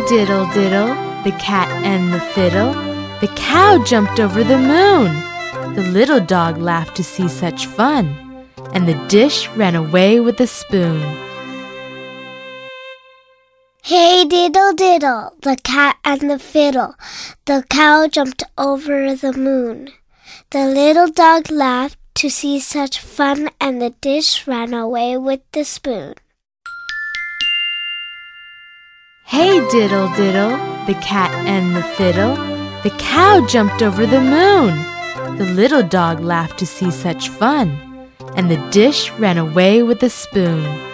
diddle diddle, the cat and the fiddle. The cow jumped over the moon. The little dog laughed to see such fun, and the dish ran away with the spoon. Hey diddle diddle, the cat and the fiddle. The cow jumped over the moon. The little dog laughed to see such fun, and the dish ran away with the spoon. Hey diddle diddle, the cat and the fiddle. The cow jumped over the moon. The little dog laughed to see such fun, and the dish ran away with the spoon.